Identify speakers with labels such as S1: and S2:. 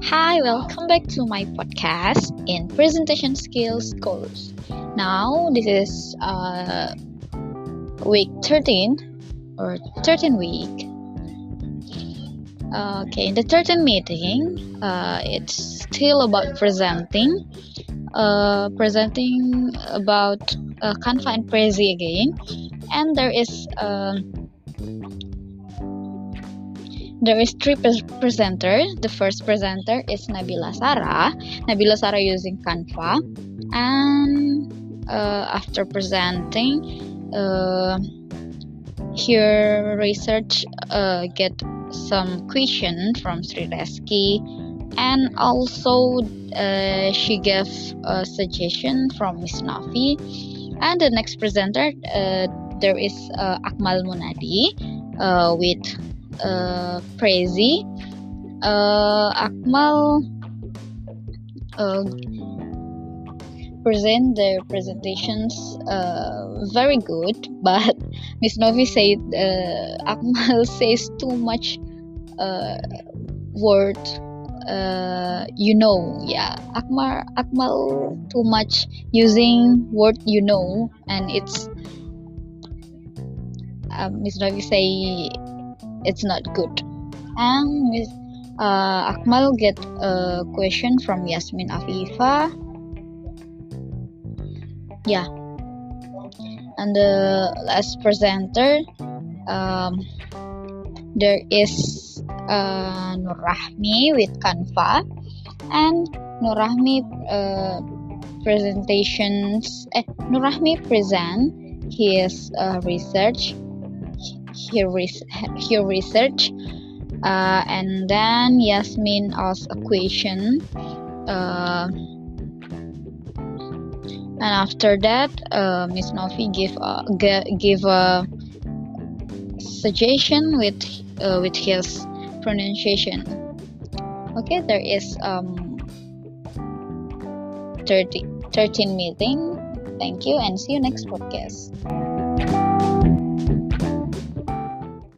S1: Hi, welcome back to my podcast in presentation skills course. Now, this is week 13 or 13 week. Okay, in the 13th meeting, it's still about presenting about Canva and Prezi again, and there is three presenters. The first presenter is Nabila Sarah. Nabila Sarah using Canva, and after presenting, her research get some question from Sri Reski, and also she gave a suggestion from Miss Nafi. And the next presenter, there is Akmal Munadi with Prezi. Akmal present their presentations very good, but Miss Novi said Akmal says too much word. Akmal too much using word and it's Miss Novi say it's not good. And Akmal get a question from Yasmin Afifa. And the last presenter, there is Nur Rahmi with Canva, and Nur Rahmi Nur Rahmi present his research. Her research, and then Yasmin asked a question, and after that, Miss Novi give a suggestion with his pronunciation. Okay, there is 13 meeting. Thank you, and see you next podcast.